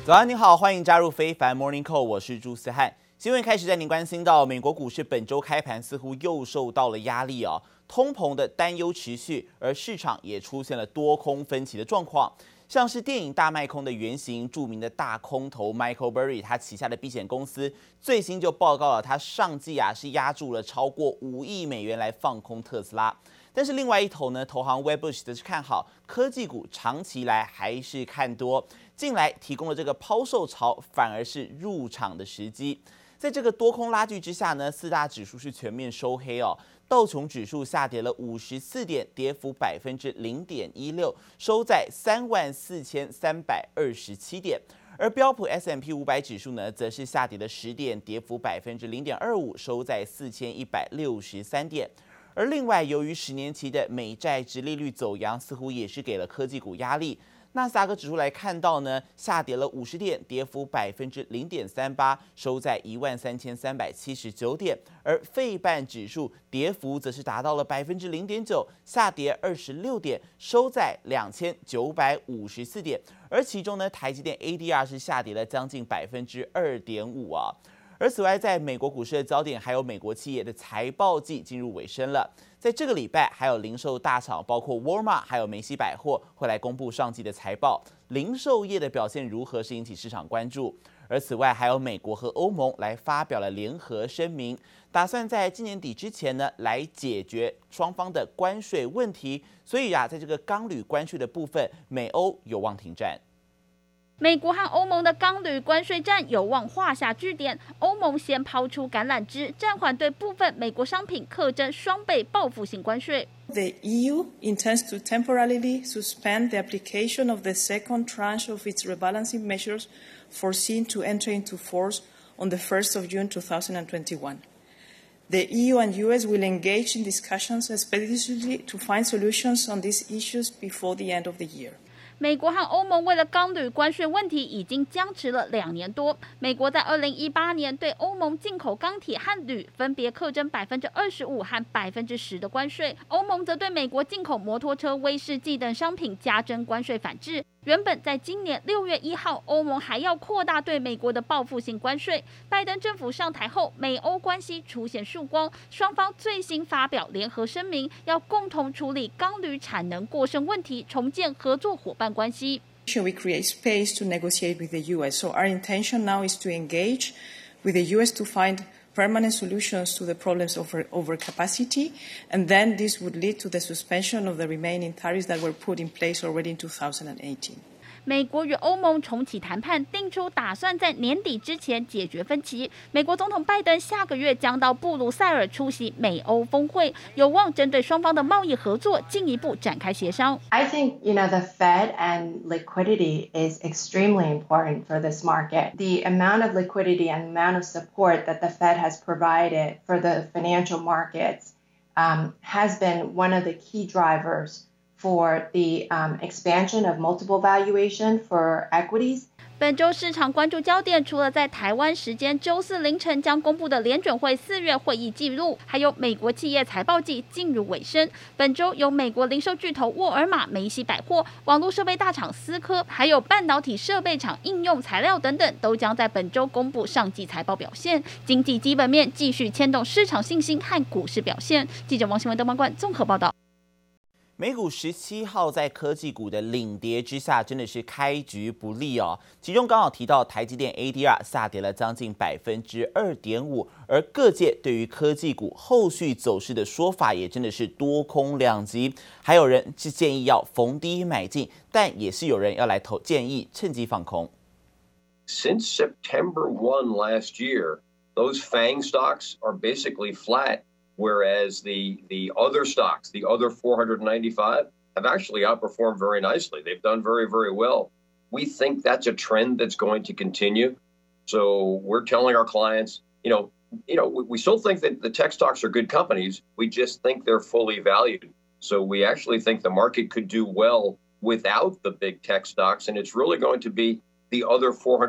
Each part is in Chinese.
早安，你好，歡迎加入非凡 Morning Call， 我是朱思翰。新聞開始帶您關心到，美國股市本周開盤似乎又受到了壓力哦，通膨的擔憂持續，而市場也出現了多空分歧的狀況。像是電影大賣空的原型，著名的大空頭 Michael Burry， 他旗下的避險公司最新就報告了，他上季是押注了超過5億美元來放空特斯拉。但是另外一頭呢，投行 Wedbush 則是看好科技股，長期來還是看多，近来提供了這個拋售潮，反而是入場的時機。在這個多空拉鋸之下呢，四大指數是全面收黑哦。道瓊指數下跌了54點，跌幅0.16%，收在34327點。而標普 S&P 500指數呢，則是下跌了10點，跌幅0.25%，收在4163點。而另外，由于10年期的美債殖利率走揚，似乎也是給了科技股壓力。納斯達克指數來看到呢，下跌了50點，跌幅0.38%，收在13379點。而費半指數跌幅則是達到了0.9%，下跌26點，收在2954點。而其中呢，台積電 ADR 是下跌了將近2.5%啊。而此外，在美國股市的焦點，還有美國企業的財報季進入尾聲了。在這個禮拜，還有零售大廠，包括沃爾瑪還有梅西百貨，會來公布上季的財報。零售業的表現如何，是引起市場關注。而此外，還有美國和歐盟來發表了聯合聲明，打算在今年底之前呢，來解決雙方的關稅問題。所以在這個鋼鋁關稅的部分，美歐有望停戰。 美國和歐盟的鋼鋁關稅戰有望畫下句點。歐盟先拋出橄欖枝，暫緩對部分美國商品課徵雙倍報復性關稅。 The EU intends to temporarily suspend the application of the second tranche of its rebalancing measures foreseen to enter into force on the 1st of June 2021. The EU and US will engage in discussions expeditiously to find solutions on these issues before the end of the year. 美國和歐盟為了鋼鋁關稅問題已經僵持了2年多。美國在2018年對歐盟進口鋼鐵和鋁分別課徵25%和10%的關稅，歐盟則對美國進口摩托車、威士忌等商品加徵關稅反制。原本在今年6月1號，歐盟還要擴大對美國的報復性關稅。拜登政府上台後，美歐關係出現曙光，雙方最新發表聯合聲明，要共同處理鋼鋁產能過剩問題，重建合作夥伴關係。 We create space to negotiate with the US. So our intention now is to engage with the US to find permanent solutions to the problems of overcapacity, and then this would lead to the suspension of the remaining tariffs that were put in place already in 2018. 美國與歐盟重啟談判，定出打算在年底之前解決分歧。美國總統拜登下個月將到布魯塞爾出席美歐峰會，有望針對雙方的貿易合作進一步展開協商。 I think, the Fed and liquidity is extremely important for this market. The amount of liquidity and amount of support that the Fed has provided for the financial markets has been one of the key drivers for the expansion of multiple valuation for equities. 本周市場關注焦點，除了在台灣時間周四凌晨將公布的聯準會4月會議記錄，還有美國企業財報季進入尾聲。本周有美國零售巨頭沃爾瑪、梅西百貨、網絡設備大廠思科，還有半導體設備廠應用材料等等，都將在本周公布上季財報表現。經濟基本面繼續牽動市場信心和股市表現。記者王新文、鄧萬冠綜合報道。 美股17號在科技股的領跌之下，真的是開局不利哦。其中剛好提到台積電 ADR 下跌了將近2.5%，而各界對於科技股後續走勢的說法也真的是多空兩極。還有人是建議要逢低買進，但也是有人要來建議趁機放空。 Since September 1 last year, those FANG stocks are basically flat.Whereas the other stocks, the other 495, have actually outperformed very nicely. They've done very, very well. We think that's a trend that's going to continue. So we're telling our clients, we still think that the tech stocks are good companies. We just think they're fully valued. So we actually think the market could do well without the big tech stocks. And it's really going to be the other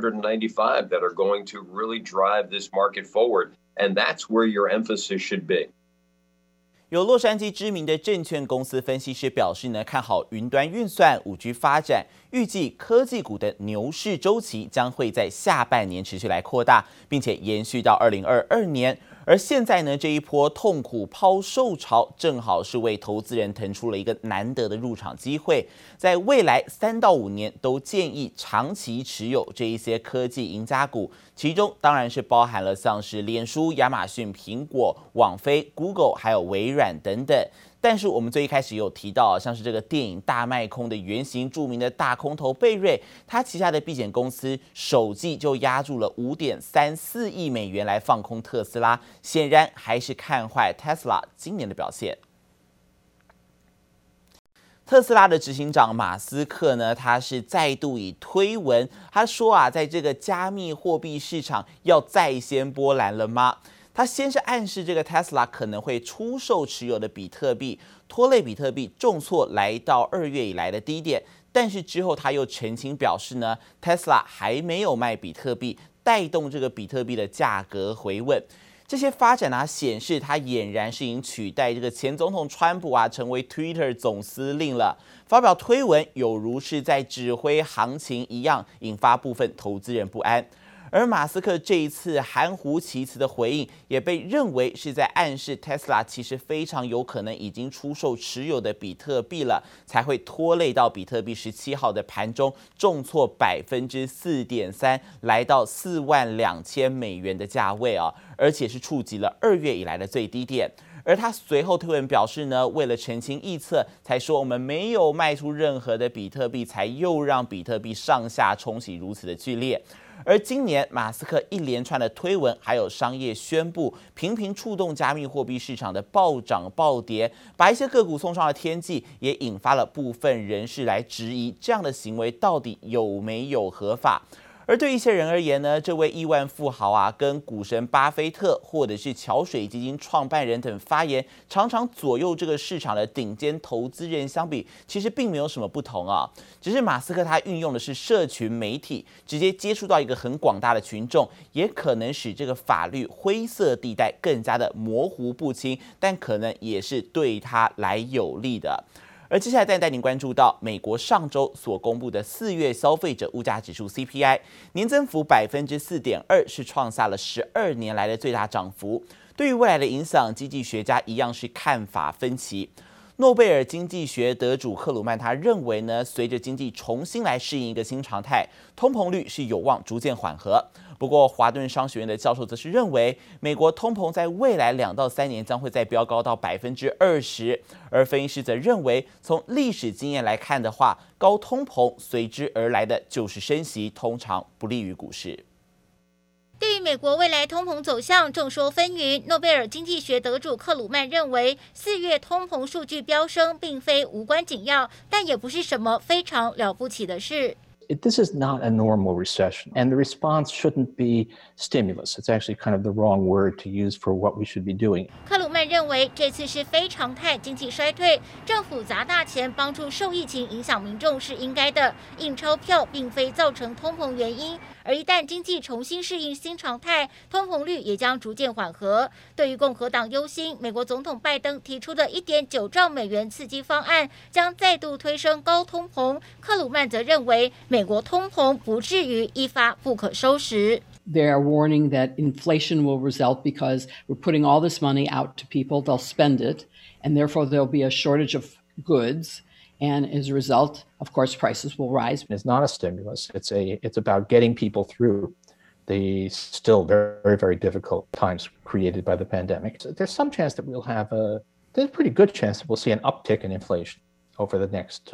495 that are going to really drive this market forward. And that's where your emphasis should be. 有洛杉矶知名的證券公司分析師表示呢，看好雲端運算、5G 發展，預計科技股的牛市週期將會在下半年持續來擴大，並且延續到2022年。而現在呢，這一波痛苦拋售潮，正好是為投資人騰出了一個難得的入場機會。在未來3到5年，都建議長期持有這一些科技贏家股，其中當然是包含了像是臉書、亞馬遜、蘋果、網飛、Google 還有微軟等等。但是我們最一開始有提到，像是這個電影大賣空的原型，著名的大空頭貝瑞，他旗下的避險公司首季就押注了5.34億美元來放空特斯拉，顯然還是看壞 Tesla 今年的表現。特斯拉的執行長馬斯克呢，他是再度以推文，他說啊，在這個加密貨幣市場要再掀波瀾了嗎？他先是暗示這個 Tesla 可能會出售持有的比特幣，拖累比特幣重挫來到2月以來的低點。但是之後他又澄清表示呢 ，Tesla 還沒有賣比特幣，帶動這個比特幣的價格回穩。這些發展啊，顯示他儼然是已經取代這個前總統川普啊，成為 Twitter 總司令了。發表推文有如是在指揮行情一樣，引發部分投資人不安。而馬斯克這一次含糊其辭的回應，也被認為是在暗示 Tesla 其實非常有可能已經出售持有的比特幣了，才會拖累到比特幣17號的盤中重挫4.3%，來到42000美元的價位啊，而且是觸及了2月以來的最低點。而他隨後推文表示呢，為了澄清臆測，才說我們沒有賣出任何的比特幣，才又讓比特幣上下衝洗如此的劇烈。而今年馬斯克一連串的推文還有商業宣布，頻頻觸動加密貨幣市場的暴漲暴跌，把一些個股送上了天際，也引發了部分人士來質疑這樣的行為到底有沒有合法。而對一些人而言呢，這位億萬富豪啊，跟股神巴菲特或者是橋水基金創辦人等發言常常左右這個市場的頂尖投資人相比，其實並沒有什麼不同啊。只是馬斯克他運用的是社群媒體，直接接觸到一個很廣大的群眾，也可能使這個法律灰色地帶更加的模糊不清，但可能也是对他來有利的。而接下來再帶您關注到美國上周所公布的4月消費者物價指數 CPI 年增幅4.2%，是創下了12年來的最大漲幅。對於未來的影響，經濟學家一樣是看法分歧。諾貝爾經濟學得主克魯曼他認為呢，隨着經濟重新來適應一個新常態，通膨率是有望逐漸緩和。不過，華頓商學院的教授則是認為，美國通膨在未來2到3年將會再飆高到20%，而分析師則認為，從歷史經驗來看的話，高通膨隨之而來的就是升息，通常不利於股市。 對於美國未來通膨走向眾說紛紜，諾貝爾經濟學得主克魯曼認為，4月通膨數據飆升並非無關緊要，但也不是什麼非常了不起的事。 This is not a normal recession, and the response shouldn't be stimulus. It's actually kind of the wrong word to use for what we should be doing. 克魯曼認為，這次是非常態經濟衰退，政府砸大錢幫助受疫情影響民眾是應該的，印鈔票並非造成通膨原因。而一旦經濟重新適應新常態，通膨率也將逐漸緩和。對於共和黨憂心，美國總統拜登提出的1.9兆美元刺激方案將再度推升高通膨，克魯曼則認為，美國通膨不至於一發不可收拾。 They are warning that inflation will result because we're putting all this money out to people, they'll spend it, and therefore there'll be a shortage of goods. And as a result, of course, prices will rise. It's not a stimulus. It's about getting people through the still very, very difficult times created by the pandemic. So there's some chance that there's a pretty good chance that we'll see an uptick in inflation over the next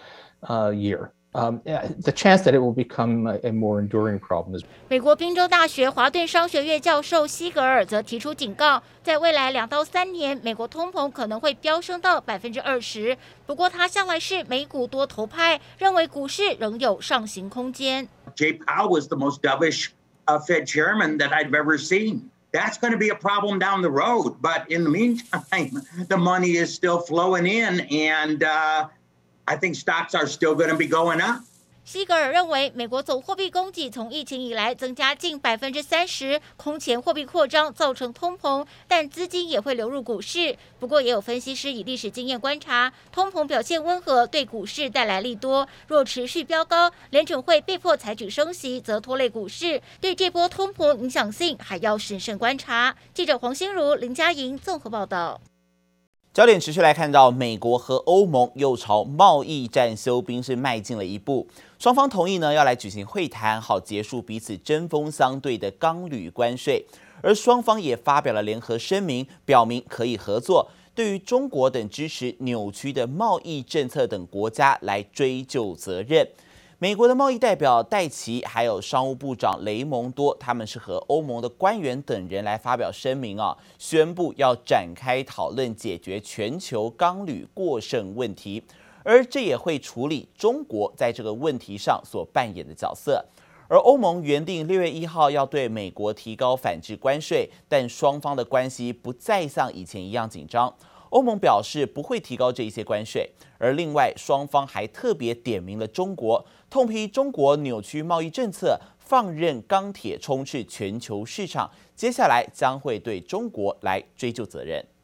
year. The chance that it will become a more enduring problem is. 美國賓州大學華頓商學院教授西格爾則提出警告，在未來2到3年，美國通膨可能會飆升到20%。不過，他向來是美股多頭派，認為股市仍有上行空間。 Jay Powell was the most dovish Fed chairman that I've ever seen. That's going to be a problem down the road. But in the meantime, the money is still flowing in, and I think stocks are still going to be going up. 西格爾認為，美國總貨幣供給從疫情以來增加近30%，空前貨幣擴張造成通膨，但資金也會流入股市。不過，也有分析師以歷史經驗觀察，通膨表現溫和，對股市帶來利多；若持續飆高，聯準會被迫採取升息，則拖累股市。對這波通膨影響性，還要審慎觀察。記者黃心如、林佳瑩綜合報道。 焦點持續來看到，美國和歐盟又朝貿易戰休兵是邁進了一步，雙方同意呢要來舉行會談，好結束彼此針鋒相對的鋼鋁關稅，而雙方也發表了聯合聲明，表明可以合作，對於中國等支持扭曲的貿易政策等國家來追究責任。美國的貿易代表戴琪，還有商務部長雷蒙多，他們是和歐盟的官員等人來發表聲明宣布要展開討論解決全球鋼鋁過剩問題，而這也會處理中國在這個問題上所扮演的角色。而歐盟原定6月1號要對美國提高反制關稅，但雙方的關係不再像以前一樣緊張。歐盟表示不會提高這一些關稅，而另外雙方還特別點名了中國，痛批中國扭曲貿易政策，放任鋼鐵充斥全球市場，接下來將會對中國來追究責任。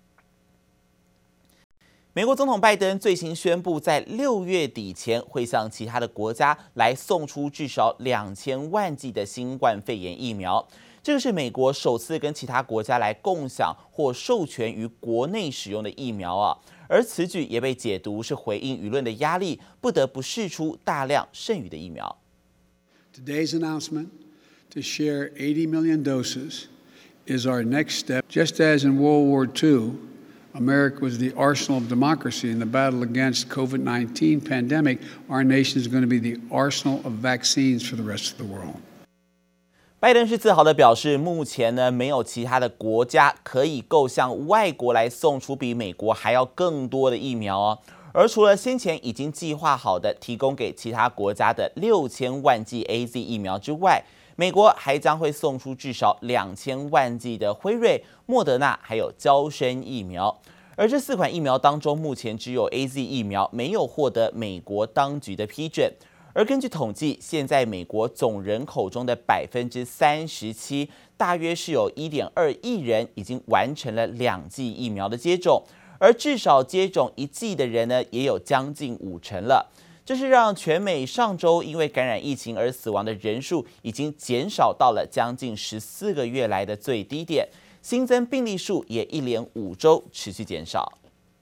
美國總統拜登最新宣布，在6月底前會向其他的國家來送出至少2000萬劑的新冠肺炎疫苗。這個是美國首次跟其他國家來共享或授權於國內使用的疫苗而此舉也被解讀是回應輿論的壓力，不得不釋出大量剩餘的疫苗。 Today's announcement to share 80 million doses is our next step. Just as in World War II, America was the arsenal of democracy in the battle against COVID-19 pandemic, our nation is going to be the arsenal of vaccines for the rest of the world. 拜登是自豪地表示，目前呢沒有其他的国家可以够向外國來送出比美國還要更多的疫苗而除了先前已經計劃好的提供給其他國家的6000萬劑 AZ 疫苗之外，美國還將會送出至少2000萬劑的輝瑞、莫德納還有嬌生疫苗。而這4款疫苗當中，目前只有 AZ 疫苗沒有獲得美國當局的批准。而根據統計，現在美國總人口中的37%，大約是有1.2億人已經完成了2劑疫苗的接種，而至少接種1劑的人呢，也有將近50%了。這是讓全美上周因為感染疫情而死亡的人數已經減少到了將近14個月來的最低點，新增病例數也一連5周持續減少。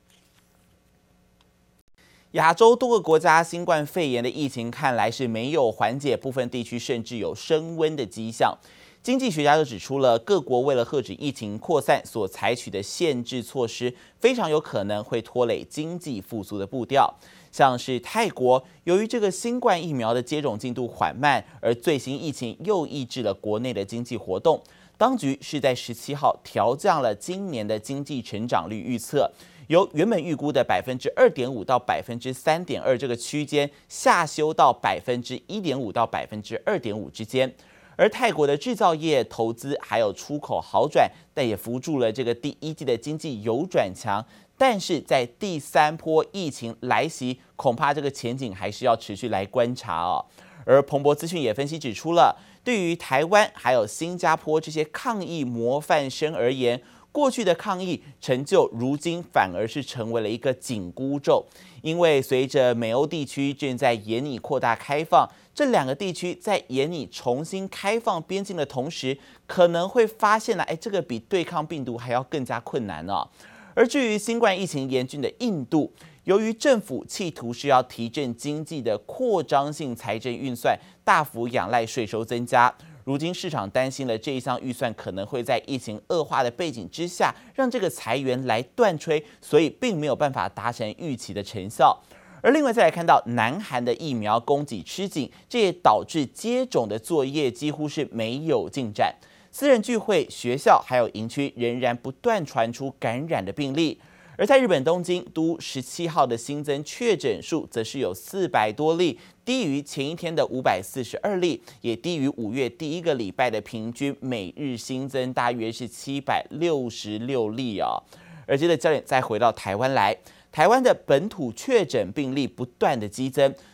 亞洲多個國家新冠肺炎的疫情看來是沒有緩解，部分地區甚至有升溫的跡象。經濟學家就指出了，各國為了遏止疫情擴散所採取的限制措施，非常有可能會拖累經濟復甦的步調。像是泰國，由於這個新冠疫苗的接種進度緩慢，而最新疫情又抑制了國內的經濟活動，當局是在17號調降了今年的經濟成長率預測。由原本預估的2.5%到3.2%這個區間下修到1.5%到2.5%之間，而泰國的製造業、投資還有出口好轉，但也扶助了這個第一季的經濟有轉強。但是在第3波疫情來襲，恐怕這個前景還是要持續來觀察而彭博資訊也分析指出了，對於台灣還有新加坡這些抗疫模範生而言，過去的抗疫成就，如今反而是成為了一個緊箍咒，因為隨着美歐地區正在研擬擴大開放，這2個地區在研擬重新開放邊境的同時，可能會發現這個比對抗病毒還要更加困難而至於新冠疫情嚴峻的印度，由於政府企圖是要提振經濟的擴張性財政預算，大幅仰賴稅收增加。如今市場擔心了這一項預算可能會在疫情惡化的背景之下，讓這個財源來斷炊，所以並沒有辦法達成預期的成效。而另外再來看到南韓的疫苗供給吃緊，這也導致接種的作業幾乎是沒有進展。私人聚會、學校還有營區仍然不斷傳出感染的病例。而在日本東京都17號的新增確診數則是有400多例，低於前一天的542例，也低於5月第一個禮拜的平均每日新增大約是766例而接着焦點再回到台灣來，台灣的本土確診病例不斷的激增，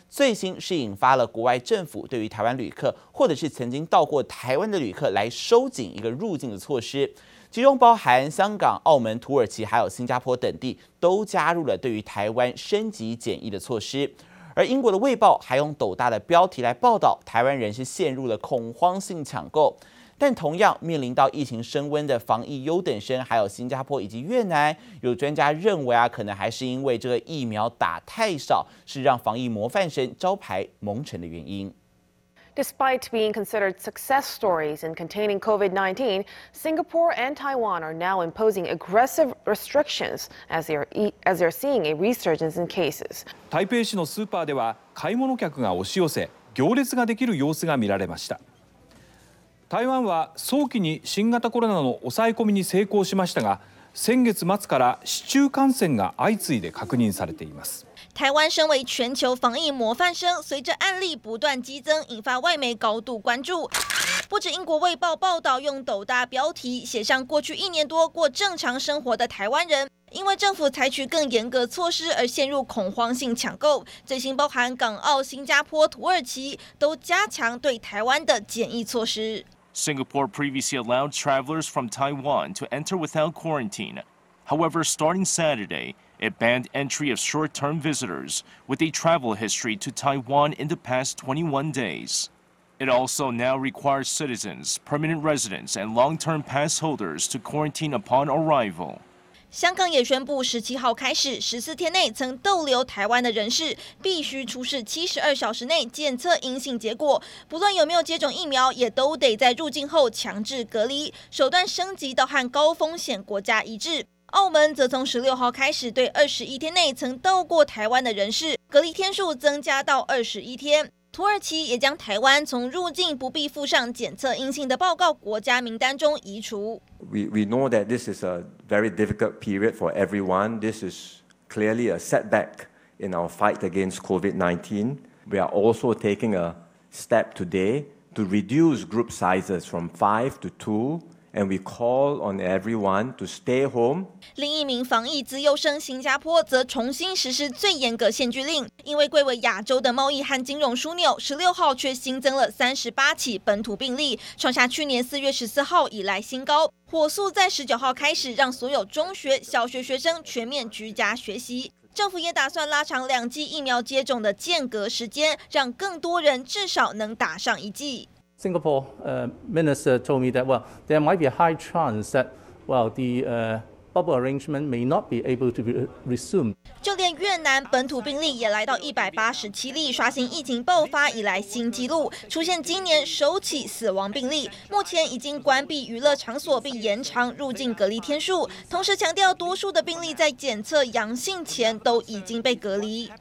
最新是引發了國外政府對於台灣旅客或者是曾經到過台灣的旅客來收緊一個入境的措施，其中包含香港、澳門、土耳其還有新加坡等地都加入了對於台灣升級檢疫的措施。而英國的《衛報》還用斗大的標題來報道台灣人是陷入了恐慌性搶購。但同樣面臨到疫情升溫的防疫優等生，還有新加坡以及越南，有專家認為可能還是因為這個疫苗打太少，是讓防疫模範生招牌蒙塵的原因。 Despite being considered success stories in containing COVID-19, Singapore and Taiwan are now imposing aggressive restrictions as they're seeing a resurgence in cases. 台北市のスーパーでは買い物客が押し寄せ、行列ができる様子が見られました。台湾は早期に新型コロナの抑え込みに成功しましたが、先月末から市中感染が相次いで確認されています。 台灣身為全球防疫模範生，隨着案例不斷激增，引發外媒高度關注。不止英國衛報報道用斗大標題寫上過去1年多過正常生活的台灣人，因為政府採取更嚴格措施而陷入恐慌性搶購。最新包含港澳、新加坡、土耳其都加強對台灣的檢疫措施。 Singapore previously allowed travelers from Taiwan to enter without quarantine. However, starting Saturday, it banned entry of short-term visitors with a travel history to Taiwan in the past 21 days. It also now requires citizens, permanent residents, and long-term pass holders to quarantine upon arrival. 香港也宣布17號開始14天內曾逗留台灣的人士必須出示72小時內檢測陰性結果，不論有沒有接種疫苗，也都得在入境後強制隔離，手段升級到和高風險國家一致。澳門則從16號開始對21天內曾到過台灣的人士隔離天數增加到21天。土耳其也將台灣從入境不必附上檢測陰性的報告國家名單中移除。 We know that this is a very difficult period for everyone. This is clearly a setback in our fight against COVID-19. We are also taking a step today to reduce group sizes from 5 to 2. And we call on everyone to stay home. 另一名防疫資優生新加坡則重新實施最嚴格限聚令，因為貴為亞洲的貿易和金融樞紐，16號卻新增了38起本土病例，創下去年4月14號以來新高。火速在19號開始讓所有中學、小學學生全面居家學習。政府也打算拉長2劑疫苗接種的間隔時間，讓更多人至少能打上1劑。 Singapore minister told me that, well, there might be a high chance that, well, the bubble arrangement may not be able to be resumed. 就連越南本土病例也來到187例，刷新疫情爆發以來新紀錄，出現今年首起死亡病例。目前已經關閉娛樂場所並延長入境隔離天數，同時強調多數的病例在檢測陽性前都已經被隔離。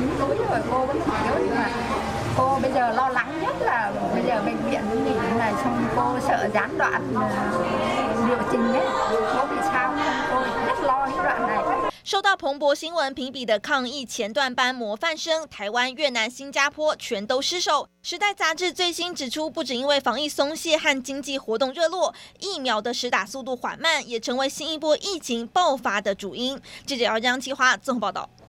Cô bây giờ lo lắng nhất là bây giờ bệnh viện nghỉ này, xong cô sợ gián đoạn liệu trình ấy, cô bị sao cô rất lo cái đoạn này. 受到彭博新聞評比的抗疫前段班模範生，台灣、越南、新加坡全都失守。時代雜誌最新指出，不只因為防疫鬆懈和經濟活動熱絡，疫苗的施打速度緩慢，也成為新一波疫情爆發的主因。記者姚江企劃綜合報道。